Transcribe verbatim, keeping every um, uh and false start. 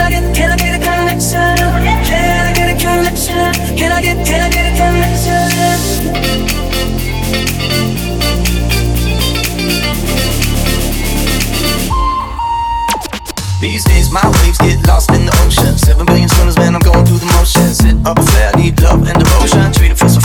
I get, can I get a connection? Can I get a connection? Can I get, can I get a connection? These days my waves get lost in the ocean. Seven billion swimmers, man, I'm going through the motions. Sit up a flare, need love and devotion. Treat it, feel so